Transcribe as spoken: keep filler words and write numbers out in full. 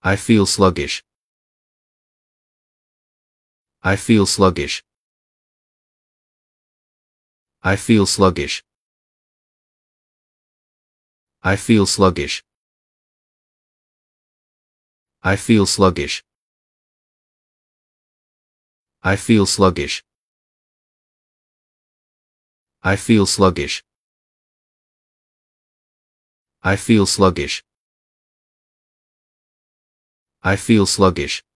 I feel sluggish. I feel sluggish. I feel sluggish. I feel sluggish. I feel sluggish. I feel sluggish. I feel sluggish. I feel sluggish. I feel sluggish.